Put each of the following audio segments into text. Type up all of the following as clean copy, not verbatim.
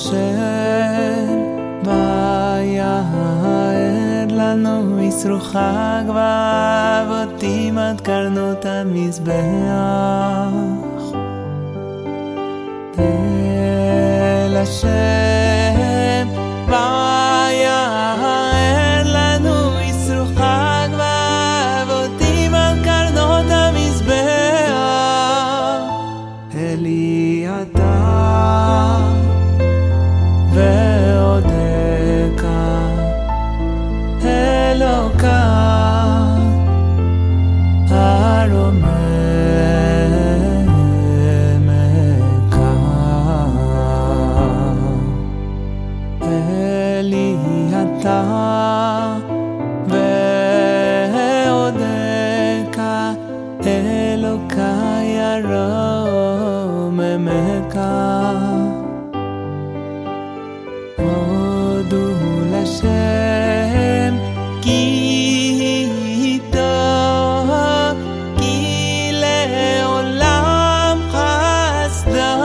השם ויער לנו ישרו חג ואבותים עד קרנות המזבח אל השם ויער לנו ישרו חג ואבותים עד קרנות המזבח אלי אתה ועודך אלוקה הרוממך אלי אתה ועודך אלוקה ירוממך הודו לשם כי טוב כי לעולם חסדו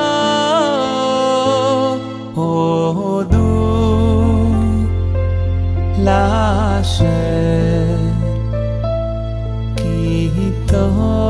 הודו לשם כי טוב